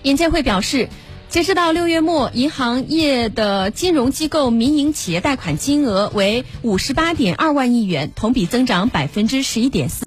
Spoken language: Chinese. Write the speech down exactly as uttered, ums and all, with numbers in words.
银监会表示，截止到六月末，银行业的金融机构民营企业贷款金额为五十八点二万亿元，同比增长百分之十一点四。